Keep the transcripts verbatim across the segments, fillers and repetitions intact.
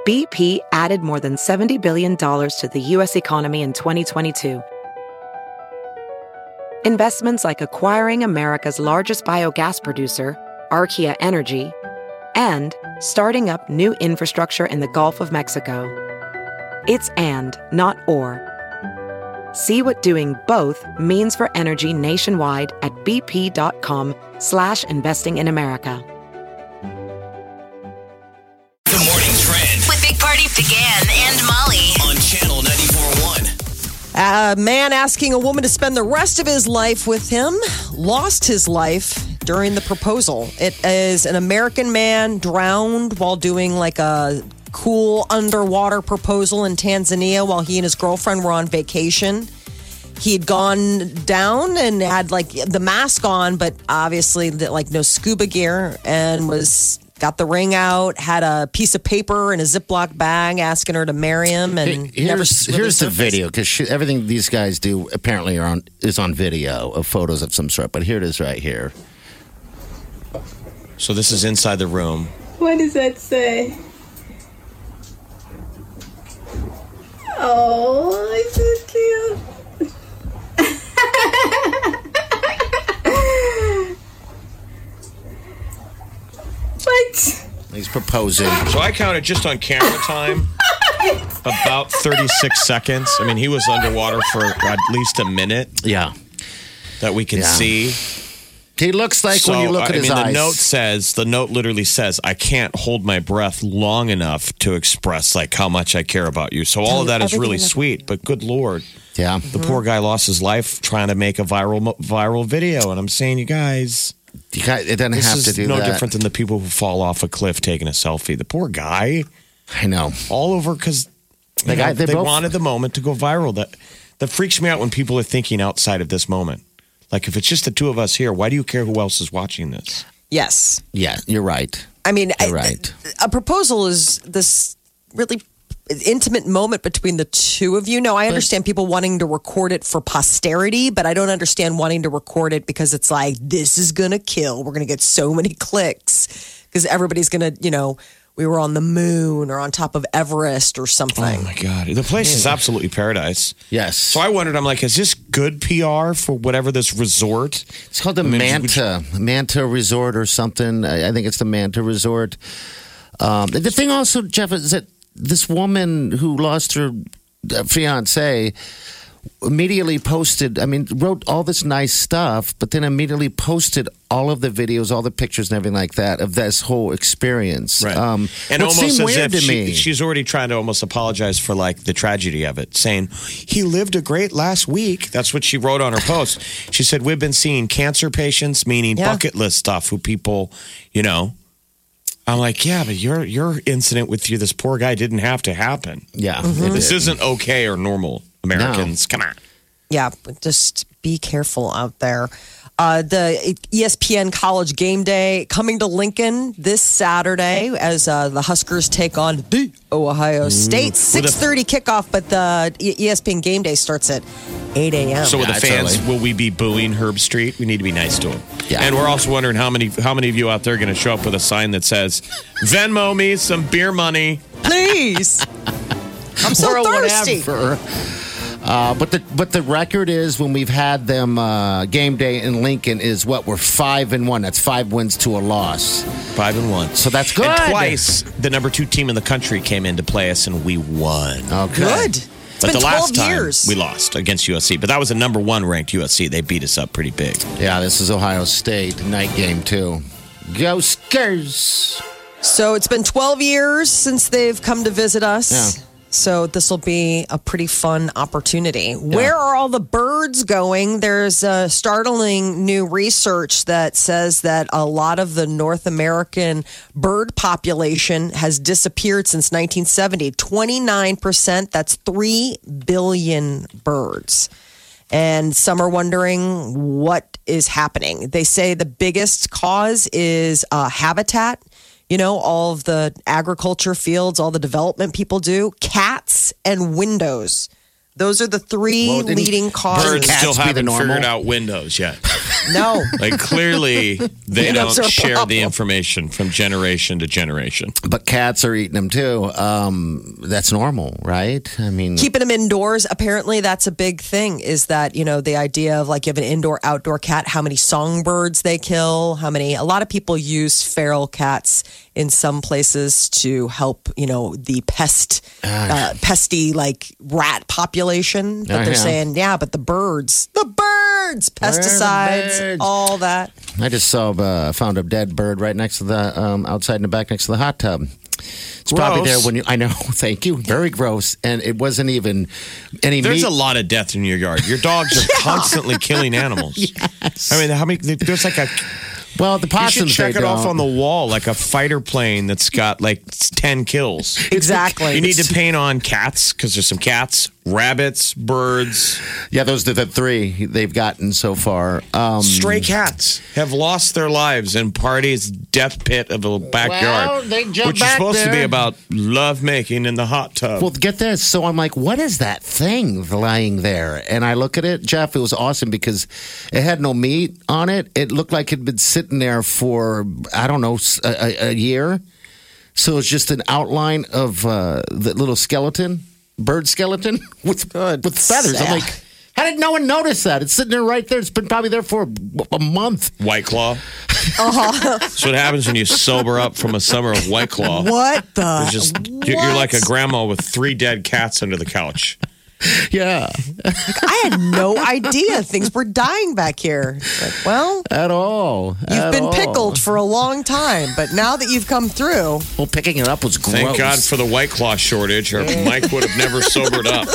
B P added more than seventy billion dollars to the U S economy in twenty twenty-two. Investments like acquiring America's largest biogas producer, Archaea Energy, and starting up new infrastructure in the Gulf of Mexico. It's and, not or. See what doing both means for energy nationwide at bp.com slash investing in America. The Morning Trend with Big Party began and Molly on Channel ninety-four point one. A man asking a woman to spend the rest of his life with him lost his life during the proposal. It is an American man drowned while doing like a cool underwater proposal in Tanzania while he and his girlfriend were on vacation. He'd gone down and had like the mask on, but obviously like no scuba gear, and was got the ring out, had a piece of paper in a Ziploc bag asking her to marry him, and Hey, never here's really here's the surfaced. video, because everything these guys do apparently are on is on video of photos of some sort. But here it is right here. So this is inside the room. What does that say? Oh, it's so cute. What? He's proposing. So I counted just on camera time about thirty-six seconds. I mean, he was underwater for at least a minute Yeah, that we can Yeah. see. he looks like So, when you look at I his mean, eyes. the note says, the note literally says, I can't hold my breath long enough to express like how much I care about you. So all of that is Everything really in the- sweet, but good Lord. yeah, The poor guy lost his life trying to make a viral mo- viral video. And I'm saying, you guys, you got, it doesn't this have is to do no that. different than the people who fall off a cliff taking a selfie. The poor guy, I know. all over because The guy- they they both- wanted the moment to go viral. That that freaks me out when people are thinking outside of this moment. Like, if it's just the two of us here, why do you care who else is watching this? Yes. Yeah, you're right. I mean, You're I- right. a proposal is this really intimate moment between the two of you. No, I understand people wanting to record it for posterity, but I don't understand wanting to record it because it's like, this is going to kill. We're going to get so many clicks because everybody's going to, you know, we were on the moon or on top of Everest or something. Oh, my God. The place is absolutely paradise. Yes. So I wondered, I'm like, is this good P R for whatever this resort? It's called the I mean, Manta Manta Resort or something. I I think it's the Manta Resort. Um, the thing also, Jeff, is that this woman who lost her uh, fiance immediately posted, I mean, wrote all this nice stuff, but then immediately posted all of the videos, all the pictures and everything like that of this whole experience. Right. Um, and which almost seemed as weird if to me. she, she's already trying to almost apologize for like the tragedy of it, saying he lived a great last week. That's what she wrote on her post. She said, we've been seeing cancer patients, meaning Yeah. bucket list stuff, who people, you know. I'm like, yeah, but your your incident with you, this poor guy, didn't have to happen. yeah. Mm-hmm. it This did. isn't okay or normal, Americans. Come on. Yeah, but just be careful out there. Uh, the E S P N College Game Day coming to Lincoln this Saturday as uh, the Huskers take on the Ohio State. six thirty kickoff, but the E S P N Game Day starts at eight a.m. So with Yeah, the it's fans, early. will we be booing Herb Street? We need to be nice to him. Yeah. And we're also wondering how many how many of you out there are going to show up with a sign that says, Venmo me some beer money. Please. I'm so Or thirsty. whatever. Uh, but the but the record is when we've had them uh, game day in Lincoln is what we're five and one. That's five wins to a loss. Five and one. So that's good. And twice, the number two team in the country came in to play us, and we won. Okay. Good. It's but been the last twelve time years. we lost against U S C, but that was a number one ranked U S C. They beat us up pretty big. Yeah, this is Ohio State night game too. Go Skers. So it's been twelve years since they've come to visit us. Yeah. So this will be a pretty fun opportunity. Where are all the birds going? There's a startling new research that says that a lot of the North American bird population has disappeared since nineteen seventy. twenty-nine percent, that's three billion birds. And some are wondering what is happening. They say the biggest cause is uh, habitat. You know, all of the agriculture fields, all the development people do, cats and windows. Those are the three Well, didn't leading causes. Birds Cats still be the haven't normal? figured out Windows yet. No. Like clearly, they That's don't our share problem. the information from generation to generation. But cats are eating them too. Um, that's normal, right? I mean, Keeping them indoors, apparently that's a big thing, is that, you know, the idea of like you have an indoor outdoor cat, how many songbirds they kill, how many, a lot of people use feral cats in some places to help, you know, the pest, uh, pesty like rat population. But Oh, they're yeah. saying, yeah, but the birds, the birds, pesticides, birds? all that. I just saw, uh, found a dead bird right next to the, um, outside in the back next to the hot tub. It's probably Gross. there when you, I know, thank you. Very gross. And it wasn't even any There's meat. a lot of death in your yard. Your dogs are constantly killing animals. Yes. I mean, how many? There's like a. Well, the You should possums, check they it off don't. on the wall, like a fighter plane that's got like ten kills. Exactly. You need to paint on cats because there's some cats, rabbits, birds. Yeah, those are the three they've gotten so far. Um, Stray cats have lost their lives in Party's death pit of a backyard, Well, they jump which is back supposed to be there. about love making in the hot tub. Well, get this. So I'm like, what is that thing lying there? And I look at it, Jeff. It was awesome because it had no meat on it. It looked like it'd been sitting there for, I don't know, s- a, a- a year. So it's just an outline of uh, the little skeleton, bird skeleton with with feathers. I'm like, how did no one notice that? It's sitting there right there. It's been probably there for a, a month. White Claw. Uh-huh. That's what happens when you sober up from a summer of White Claw. What the? It's just you're, you're like a grandma with three dead cats under the couch. Yeah, I had no idea things were dying back here. Like, well, at all. you've At been all. pickled for a long time, but now that you've come through, Well, picking it up was gross. Thank God for the White Claw shortage, or Mike would have never sobered up.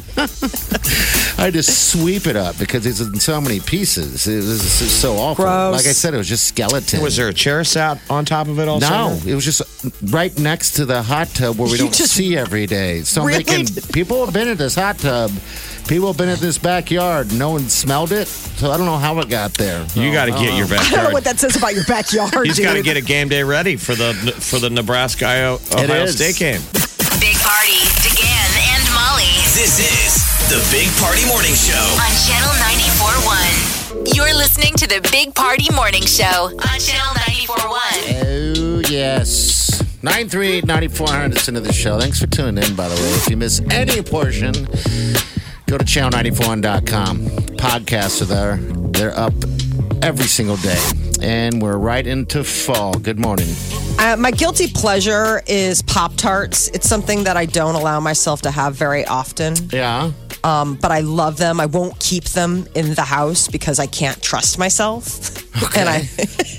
I had to sweep it up because it's in so many pieces. It was just so awful. Gross. Like I said, it was just skeleton. Was there a chair sat on top of it all No, summer? it was just right next to the hot tub where we You don't just- see every day. So I'm Really? thinking, people have been at this hot tub. People have been at this backyard. No one smelled it. So I don't know how it got there. You got to get your I don't know backyard. what that says about your backyard, He's dude. got to get a game day ready for the for the Nebraska Ohio, Ohio is. State game. Big Party, DeGan and Molly This is the Big Party Morning Show. on Channel ninety-four point one. You're listening to the Big Party Morning Show on Channel ninety-four point one. Oh, yes. nine three eight, nine four hundred is into the show. Thanks for tuning in, by the way. If you miss any portion, go to channel nine four one dot com. Podcasts are there. They're up every single day. And we're right into fall. Good morning. Uh, my guilty pleasure is Pop-Tarts. It's something that I don't allow myself to have very often, Yeah. um, but I love them. I won't keep them in the house because I can't trust myself. And I,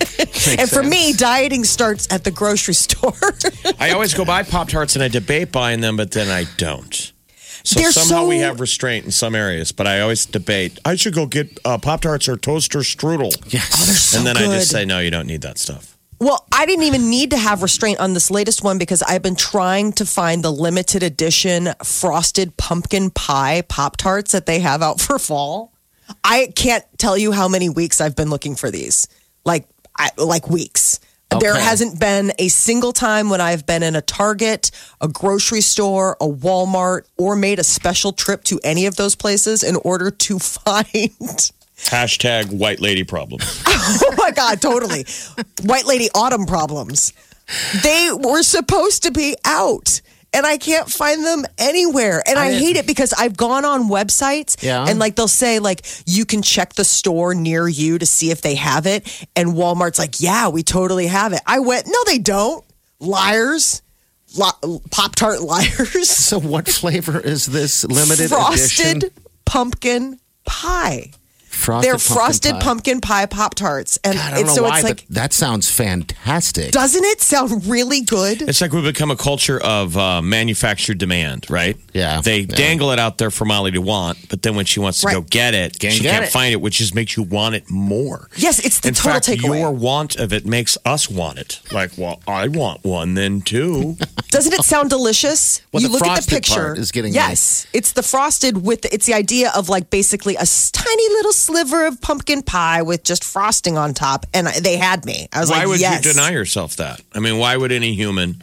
and for me, dieting starts at the grocery store. I always go buy Pop Tarts and I debate buying them, but then I don't. So They're somehow so- we have restraint in some areas, but I always debate. I should go get uh, Pop Tarts or toaster strudel. Yes. Oh, they're so and then I just good. say, no, you don't need that stuff. Well, I didn't even need to have restraint on this latest one because I've been trying to find the limited edition frosted pumpkin pie Pop Tarts that they have out for fall. I can't tell you how many weeks I've been looking for these. Like, I, like weeks. There Okay. hasn't been a single time when I've been in a Target, a grocery store, a Walmart, or made a special trip to any of those places in order to find. Hashtag white lady problem. Oh my God, totally. White lady autumn problems. They were supposed to be out. And I can't find them anywhere. And I, I- hate it because I've gone on websites Yeah. and like they'll say like you can check the store near you to see if they have it. And Walmart's like, yeah, we totally have it. I went, no, they don't. Liars. Li- Pop-Tart liars. So what flavor is this limited Frosted edition? pumpkin pie. Frosted They're frosted pie. pumpkin pie Pop-Tarts. And God, I don't it's, know so why, it's like, but that sounds fantastic. doesn't it sound really good? It's like we've become a culture of uh, manufactured demand, right? Yeah. They Yeah. dangle it out there for Molly to want, but then when she wants to Right. go get it, Can't she get can't it. find it, which just makes you want it more. Yes, it's the In total fact, takeaway. your want of it makes us want it. Like, well, I want one then too. Doesn't it sound delicious? Well, you the look at the frosted picture. part is getting yes, it's the frosted with. The, it's the idea of like basically a s- tiny little sliver of pumpkin pie with just frosting on top, and I- they had me. I was Why like, would yes. you deny yourself that? I mean, why would any human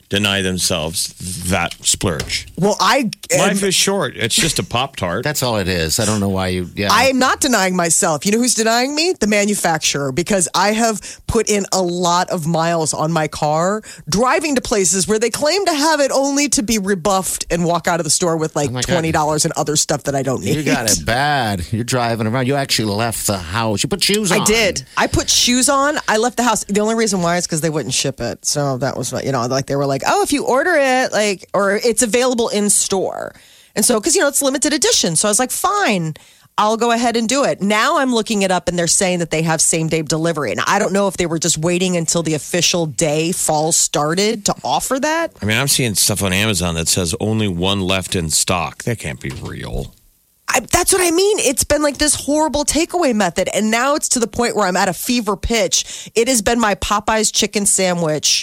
deny themselves that splurge. Well, I Life is short. It's just a Pop-Tart. That's all it is. I don't know why you. Yeah. I am not denying myself. You know who's denying me? The manufacturer, because I have put in a lot of miles on my car driving to places where they claim to have it only to be rebuffed and walk out of the store with like Oh my God. twenty dollars and other stuff that I don't need. You got it bad. You're driving around. You actually left the house. You put shoes on. I did. I put shoes on. I left the house. The only reason why is because they wouldn't ship it. So that was, you know, like they were like, oh, if you order it, like, or it's available in store. And so, because, you know, it's limited edition. So I was like, fine, I'll go ahead and do it. Now I'm looking it up and they're saying that they have same day delivery. And I don't know if they were just waiting until the official day fall started to offer that. I mean, I'm seeing stuff on Amazon that says only one left in stock. That can't be real. I, that's what I mean. It's been like this horrible takeaway method. And now it's to the point where I'm at a fever pitch. It has been my Popeye's chicken sandwich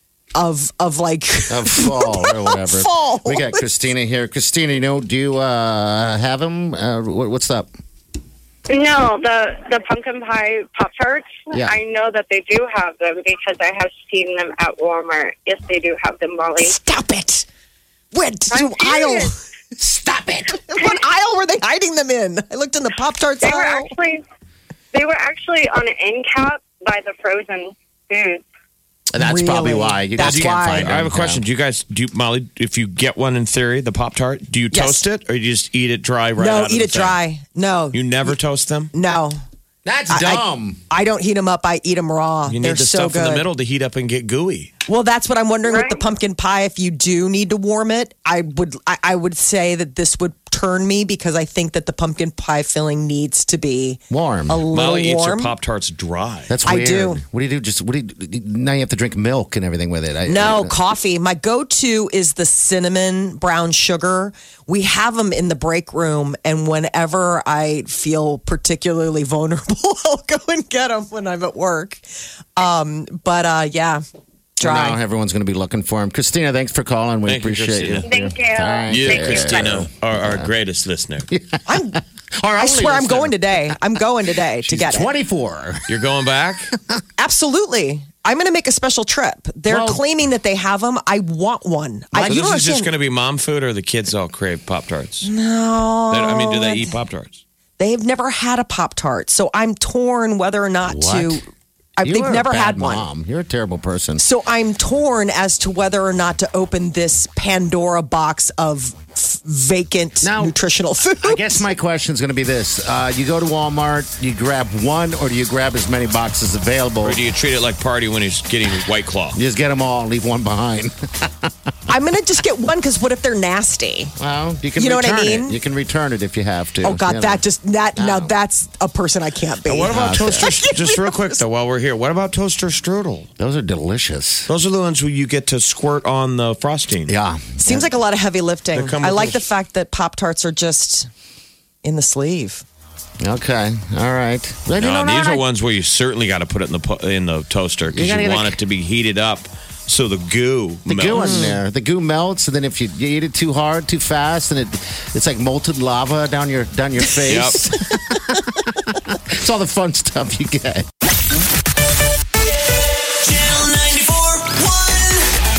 of of like Of fall or whatever. Fall. We got Christina here. Christina, you know, do you uh, have them? Uh, what, what's up? No, the the pumpkin pie Pop Tarts. Yeah. I know that they do have them because I have seen them at Walmart. Yes, they do have them, Molly. Stop it. What I'm aisle? serious. Stop it. What aisle were they hiding them in? I looked in the Pop Tarts They were aisle. actually they were actually on an end cap by the frozen foods. That's Really? probably why. You That's guys can't why. find them. I have a question. Do you guys, do you, Molly, if you get one in theory, the Pop-Tart, do you Yes. toast it or you just eat it dry right out No, of eat the it thing? dry. No. You never toast them? No. That's I- I- dumb. I don't heat them up. I eat them raw. You need They're the so stuff good. in the middle to heat up and get gooey. Well, that's what I'm wondering with the Right. pumpkin pie. If you do need to warm it, I would I, I would say that this would turn me because I think that the pumpkin pie filling needs to be Warm. a little Molly eats her warm. Pop-Tarts dry. That's I weird. do. What do you do? Just what do you? Now you have to drink milk and everything with it. I, No, I- coffee. My go-to is the cinnamon brown sugar. We have them in the break room, and whenever I feel particularly vulnerable, I'll go and get them when I'm at work. Um, but uh, yeah, Now dry. everyone's going to be looking for him. Christina, thanks for calling. We Thank you, appreciate you. Christina. Thank you. All right. You, Thank you. Christina, are our greatest listener. I'm, Our I only swear I'm listener. going today. I'm going today to She's get it. twenty-four. You're going back? Absolutely. I'm going to make a special trip. They're Well- claiming that they have them. I want one. I, So you this don't is just going understand. to be mom food or the kids all crave Pop-Tarts? No. They- I mean, do they eat Pop-Tarts? They've never had a Pop Tart, so I'm torn whether or not What? to. I, You they've are a never bad had one. mom. You're a terrible person. So I'm torn as to whether or not to open this Pandora box of f- vacant Now, nutritional food. I guess my question is going to be this: uh, you go to Walmart, you grab one, or do you grab as many boxes available? Or do you treat it like Party when he's getting White Claw? You just get them all, leave one behind. I'm going to just get one because what if they're nasty? Well, you can You know what I return mean? it. You can return it if you have to. Oh God, you know. that just that now No. that's a person I can't be. And what about Okay. toaster? Just real quick though, while we're here, what about toaster strudel? Those are delicious. Those are the ones where you get to squirt on the frosting. Yeah. Seems like a lot of heavy lifting. They come I with like the those- fact that Pop Tarts are just in the sleeve. Okay. All right. Well, you No, know, these I- are ones where you certainly got to put it in the pu- in the toaster because You you, gotta want get it to be heated up so the goo The melts. goo in there. The goo melts, and then if you, you eat it too hard, too fast, and it it's like molten lava down your down your face. It's all the fun stuff you get. Channel ninety-four point one.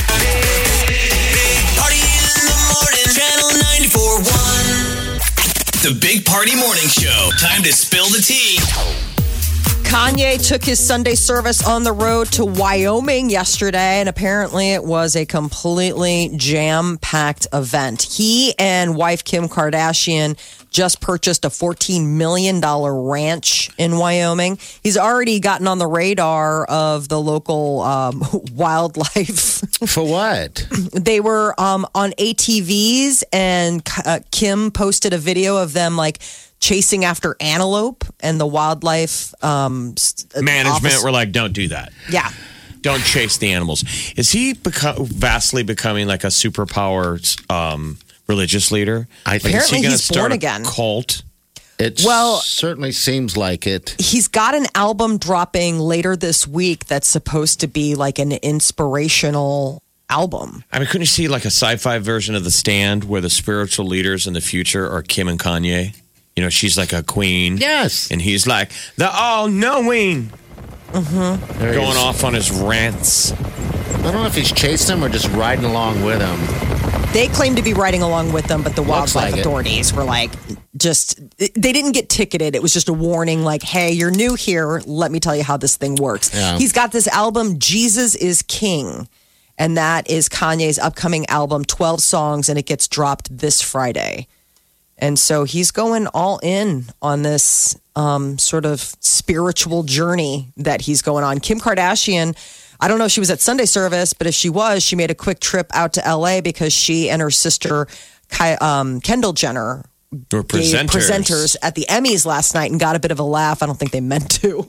Big Party in the morning. Channel ninety-four point one. The Big Party Morning Show. Time to spill the tea. Kanye took his Sunday service on the road to Wyoming yesterday, and apparently it was a completely jam-packed event. He and wife Kim Kardashian just purchased a fourteen million dollars ranch in Wyoming. He's already gotten on the radar of the local um, wildlife. For what? They were um, on A T Vs, and uh, Kim posted a video of them like chasing after antelope, and the wildlife um, s- Management office- were like, don't do that. yeah. Don't chase the animals. Is he beco- vastly becoming like a superpower um, religious leader? I think- Like, is he Apparently gonna he's start born a again. Cult. It Well- certainly seems like it. He's got an album dropping later this week that's supposed to be like an inspirational album. I mean, couldn't you see like a sci-fi version of The Stand where the spiritual leaders in the future are Kim and Kanye? You know, she's like a queen. Yes. And he's like the all-knowing. Mm-hmm. Going off on his rants. I don't know if he's chased him or just riding along with him. They claim to be riding along with them, but the Looks wildlife like it. authorities were like, just, they didn't get ticketed. It was just a warning like, hey, you're new here. Let me tell you how this thing works. Yeah. He's got this album, Jesus is King. And that is Kanye's upcoming album, twelve songs, and it gets dropped this Friday. And so he's going all in on this um, sort of spiritual journey that he's going on. Kim Kardashian, I don't know if she was at Sunday service, but if she was, she made a quick trip out to L A because she and her sister, Ky- um, Kendall Jenner, Or gave presenters. presenters at the Emmys last night and got a bit of a laugh. I don't think they meant to.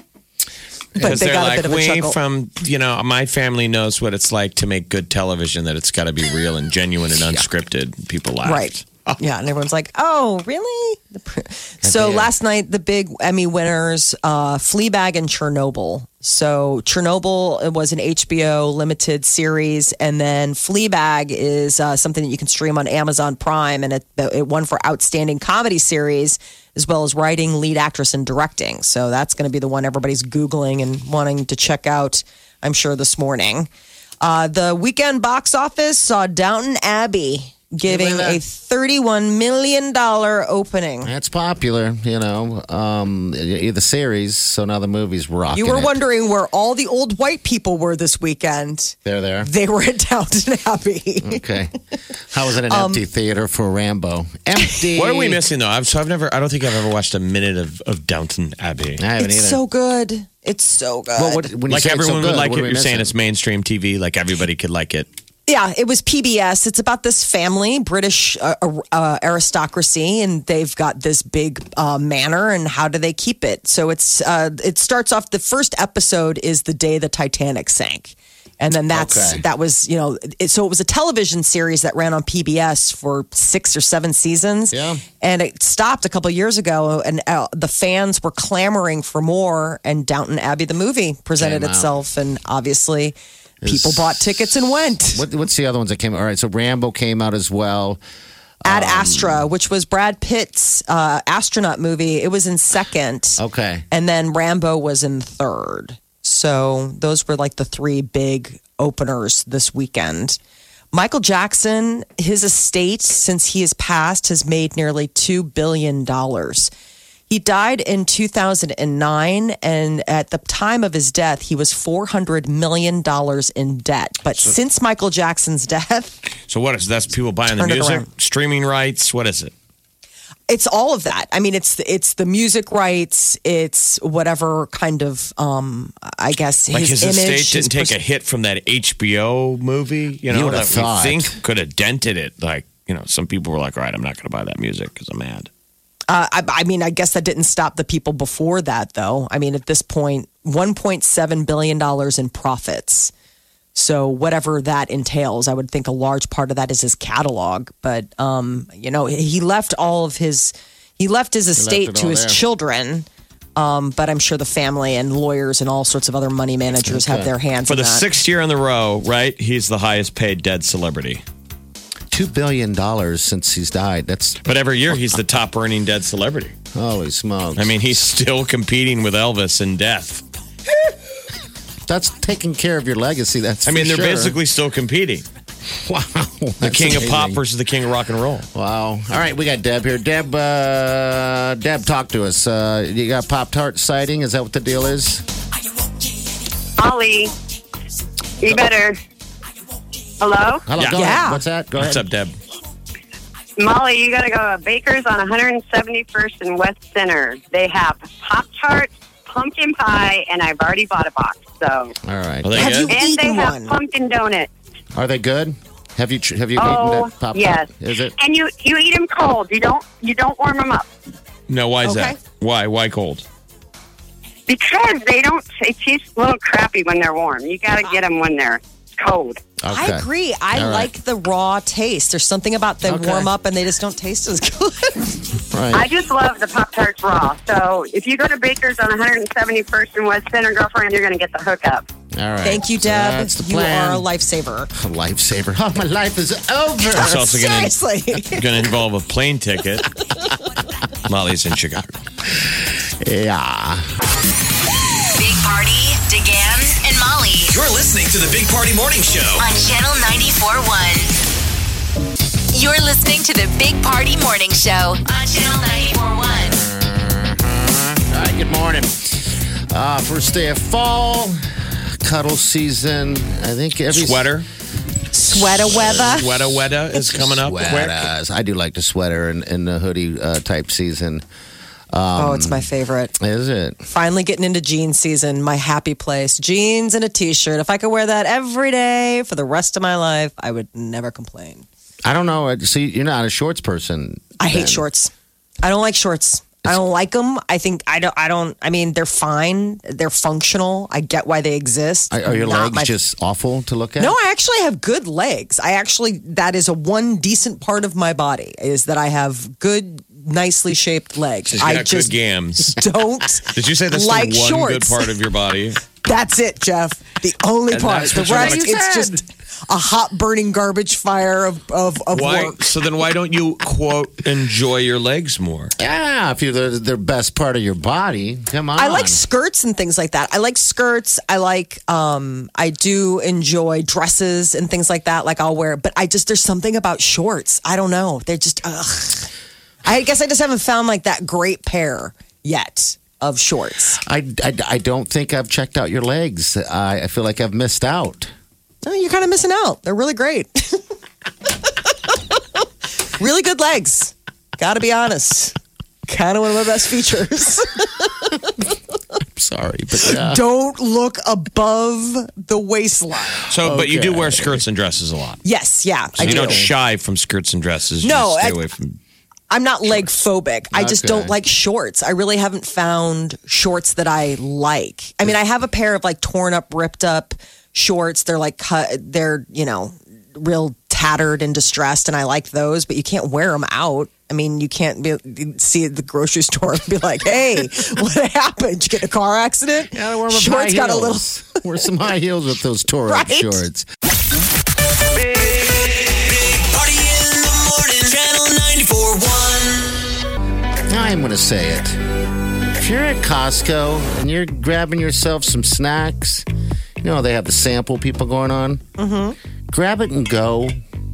But Because they they're got a like, bit of a we chuckle. from, you know, my family knows what it's like to make good television, that it's got to be real and genuine and unscripted. People laughed. Right. Yeah, and everyone's like, "Oh, really?" The pr- So last night, the big Emmy winners, uh, Fleabag and Chernobyl. So Chernobyl it was an H B O limited series, and then Fleabag is uh, something that you can stream on Amazon Prime, and it, it won for outstanding comedy series as well as writing, lead actress, and directing. So that's going to be the one everybody's Googling and wanting to check out, I'm sure, this morning. Uh, the weekend box office saw Downton Abbey giving a thirty-one million dollars opening. That's popular, you know. Um, the series, so now the movie's rocking. You were it. wondering where all the old white people were this weekend. They're there. They were at Downton Abbey. Okay. How was it an Um, empty theater for Rambo? Empty. What are we missing though? I've, so I've never, I don't think I've ever watched a minute of, of Downton Abbey. I haven't It's either. so good. It's so good. Well, what, when you Like say it's so everyone good, would like what it. are we You're saying missing? it's mainstream T V, like everybody could like it. Yeah, it was P B S. It's about this family, British uh, uh, aristocracy, and they've got this big uh, manor. And how do they keep it? So it's uh, it starts off. The first episode is the day the Titanic sank, and then that's Okay. that was you know. It, so it was a television series that ran on P B S for six or seven seasons. Yeah. And it stopped a couple years ago, and uh, the fans were clamoring for more. And Downton Abbey, the movie, presented Came out. itself, and obviously. People Is- bought tickets and went. What, what's the other ones that came out? All right, so Rambo came out as well. Ad Um, Astra, which was Brad Pitt's uh, astronaut movie. It was in second. Okay. And then Rambo was in third. So those were like the three big openers this weekend. Michael Jackson, his estate, since he has passed, has made nearly two billion dollars. He died in two thousand nine, and at the time of his death, he was four hundred million dollars in debt. But since Michael Jackson's death, So what is that's people buying the Turn it music, around. streaming rights? What is it? it's all of that. I mean, it's it's the music rights, it's whatever kind of, um, I guess, Like his, his, estate image. didn't his take a hit from that H B O movie, you know, You would've that thought. we think could have dented it. Like, you know, some people were like, all right, I'm not going to buy that music because I'm mad. Uh, I, I mean, I guess that didn't stop the people before that, though. I mean, at this point, one point seven billion dollars in profits. So whatever that entails, I would think a large part of that is his catalog. But um, you know, he left all of his he left his estate it to all his there. children. Um, but I'm sure the family and lawyers and all sorts of other money managers have their hands For in the that. sixth year in the row, right? He's the highest paid dead celebrity. Two billion dollars since he's died. That's But every year he's the top earning dead celebrity. holy smokes. I mean, he's still competing with Elvis in death. that's taking care of your legacy. That's I mean, for they're sure. basically still competing. wow. The king of pop versus the king of rock and roll. Wow. All right, we got Deb here. Deb, uh, Deb, talk to us. Uh, you got Pop Tart sighting? Is that what the deal is? Ollie, you better. Hello? Hello, Yeah. go Yeah. ahead. What's that? Go What's ahead. up, Deb? Molly, you got to go to Baker's on one hundred seventy-first and West Center. They have Pop Tarts, pumpkin pie, and I've already bought a box. So, All right. Are they Have good? you- and they Eaten have one. pumpkin donuts. Are they good? Have you tr- have you Oh, eaten that Pop yes. Tart? Is it? And you you eat them cold. You don't you don't warm them up No, why is Okay. that? Why? Why cold? because they don't. They taste a little crappy when they're warm. You got to get them when they're cold. I Okay. agree. I All right. like the raw taste. There's something about they Okay. warm up and they just don't taste as good. Right. I just love the Pop Tarts raw. So if you go to Baker's on one hundred seventy-first and West Center, girlfriend, you're going to get the hookup. All right. Thank you, So Deb. that's the you plan. are a lifesaver. A lifesaver. Oh, my life is over. It's also going to Seriously. going to involve a plane ticket. Molly's in Chicago. Yeah. Big Party, DeGan, and Molly You're listening to the Big Party Morning Show. on Channel ninety-four point one. You're listening to the Big Party Morning Show on Channel ninety-four point one. All right, good morning. Uh, first day of fall, cuddle season. I think every Sweater. Sweater weather. Sweater weather is coming up. Where- Sweaters. I do like the sweater and, and the hoodie uh, type season. Oh, it's my favorite. Is it? Finally getting into jeans season, my happy place. Jeans and a t-shirt. If I could wear that every day for the rest of my life, I would never complain. I don't know. So you're not a shorts person. I hate then. shorts. I don't like shorts. I don't like them. I think I don't. I don't. I mean, they're fine. They're functional. I get why they exist. Are, are your Not legs my- just awful to look at? No, I actually have good legs. I actually that is a one decent part of my body is that I have good, nicely shaped legs. She's I got just good gams. don't. Did you say that's like the one shorts. good part of your body? That's it, Jeff. The only And part. that's The what you rest, wanna- it's just a hot burning garbage fire of of, of Why? work. So then, why don't you quote enjoy your legs more? Yeah, if you're the, the best part of your body, come on. I like skirts and things like that. I like skirts. I like. Um, I do enjoy dresses and things like that. Like I'll wear, but I just there's something about shorts. I don't know. They're just. Ugh. I guess I just haven't found like that great pair yet of shorts. I, I, I don't think I've checked out your legs. I, I feel like I've missed out. No, you're kind of missing out. They're really great. Really good legs. Got to be honest. Kind of one of my best features. Sorry, but yeah. Don't look above the waistline. So, but you do Okay. wear skirts and dresses a lot. Yes, yeah, So I you do. don't shy from skirts and dresses. You No, just stay I- away from. I'm not leg phobic. I just Okay. don't like shorts. I really haven't found shorts that I like. I mean, I have a pair of like torn up, ripped up shorts. They're like cut. They're you know real tattered and distressed, and I like those. But you can't wear them out. I mean, you can't be, see at the grocery store and be like, "Hey, what happened? Did you get in a car accident?" Yeah, I wear my shorts high got a little. heels. Wear some high heels with those tore up Right? shorts. Big Party in the morning. Channel ninety-four point one. I'm going to say it. If you're at Costco and you're grabbing yourself some snacks, you know, they have the sample people going on. Mm-hmm. Grab it and go.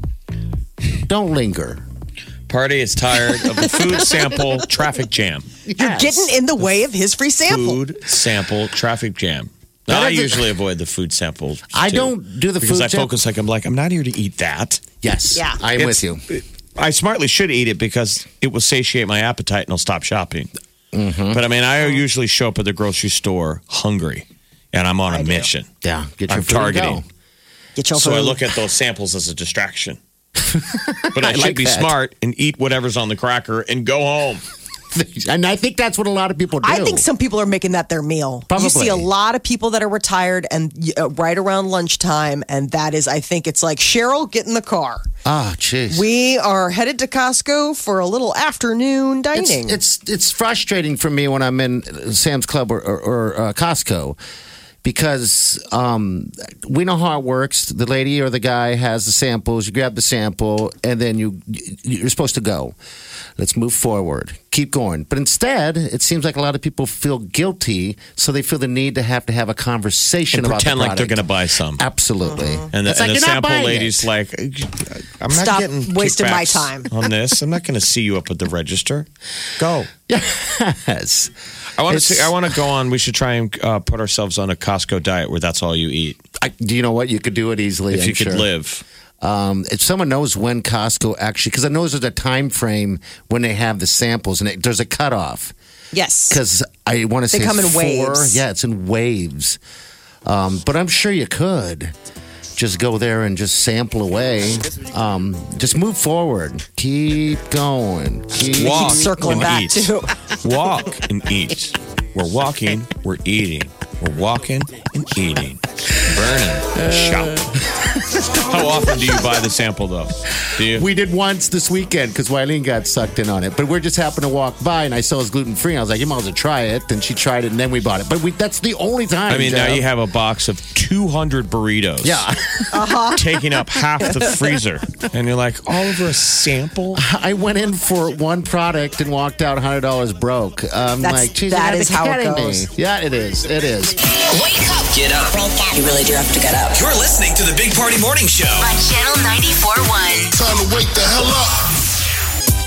Don't linger. Party is tired of the food sample traffic jam. You're getting in the way of his free sample. Food sample traffic jam. Now, That I is a- usually avoid the food samples. I too, don't do the because food I sample. focus like I'm like I'm not here to eat that. Yes. Yeah. I'm It's- with you. I smartly should eat it because it will satiate my appetite and I'll stop shopping. Mm-hmm. But I mean, I usually show up at the grocery store hungry, and I'm on a mission. Yeah. Get your I'm food and targeting. go. Get your So food. I look at those samples as a distraction. But I, I should like be that. smart and eat whatever's on the cracker and go home. And I think that's what a lot of people do. I think some people are making that their meal. Probably. You see a lot of people that are retired and uh, right around lunchtime, and that is, I think it's like Cheryl, get in the car. Oh, jeez. We are headed to Costco for a little afternoon It's, dining. it's it's frustrating for me when I'm in Sam's Club or, or, or uh, Costco because um, we know how it works. The lady or the guy has the samples. You grab the sample, and then you you're supposed to go. Let's move forward. Keep going. But instead, it seems like a lot of people feel guilty, so they feel the need to have to have a conversation And about pretend the like they're going product. to buy some. Absolutely. And the, It's like, and the you're not sample buying lady's it. like, I'm not Stop getting wasting my kickbacks time. on this. I'm not going to see you up at the register. Go. Yes. I want to It's- see. I want to go on. We should try and uh, put ourselves on a Costco diet where that's all you eat. I, do you know what? You could do it easily. If I'm you could sure. live. Um, if someone knows when Costco actually, because I know there's a time frame when they have the samples, and it, there's a cutoff. yes. Because I want to They say come in four. waves. Yeah, it's in waves. Um, but I'm sure you could just go there and just sample away. Um, just move forward. Keep going. Keep Walk circling and back, eat. too. Walk and eat. We're walking. We're eating. We're walking and eating. Burning. Shop. How often do you buy the sample, though? Do you? We did once this weekend because Wileen got sucked in on it. But we just happened to walk by and I saw it was gluten free. I was like, you might as well try it. And she tried it and then we bought it. But we, that's the only time. I mean, Jeff. now you have a box of two hundred burritos. Yeah. Uh-huh. Taking up half the freezer. And you're like, all over a sample? I went in for one product and walked out one hundred dollars broke. I'm That's- like, geez, that you is gotta how it be kidding goes. me. Yeah, it is. It is. Wake up. Get up. You really do have to get up. You're listening to the Big Party Morning Show. On Channel ninety-four point one. Time to wake the hell up.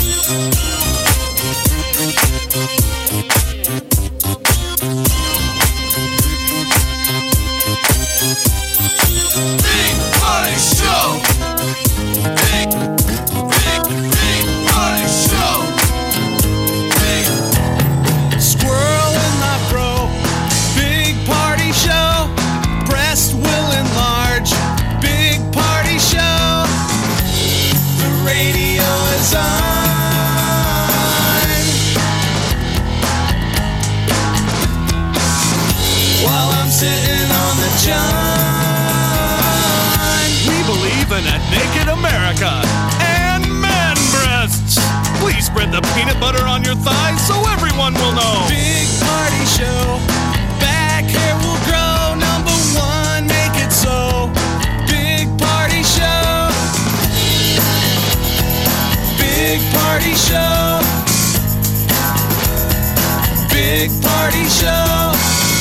Big Party Show. Big, big, big Party Show. Big. Squirrel in my fro. Big party show. Breast will enlarge. Big party show. The radio is on. While I'm sitting on the john. We believe in a naked America and man breasts. Please spread the peanut butter on your thighs so everyone will know. Big party show. Back hair will grow. Number one, make it so. Big party show. Big party show. Big party show.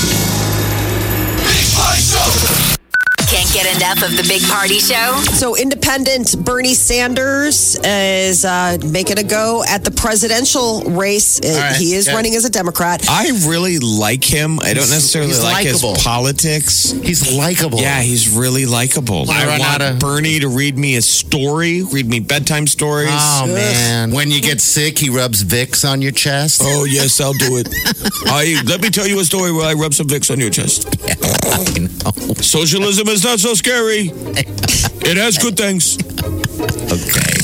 Big Party Show. Can't get enough of the Big Party Show? So, independent Bernie Sanders is uh, making a go at the presidential race. Uh, right. He is Yeah. running as a Democrat. I really like him. I don't necessarily he's like likable. his politics. He's likable. Yeah, he's really likable. I I run want out of- Bernie to read me a story, read me bedtime stories. Oh, man. When you get sick, he rubs Vicks on your chest. Oh, yes, I'll do it. I let me tell you a story where I rub some Vicks on your chest. I know. Socialism is not so scary. It has good things. Okay.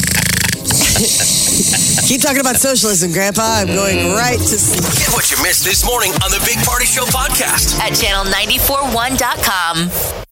Keep talking about socialism, Grandpa. I'm going right to sleep. Get what you missed this morning on the Big Party Show podcast. At channel nine four one dot com.